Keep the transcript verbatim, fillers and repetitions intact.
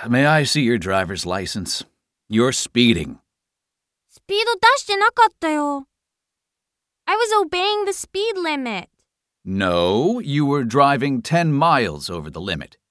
May I see your driver's license? You're speeding. スピード出してなかったよ。I was obeying the speed limit. No, you were driving ten miles over the limit.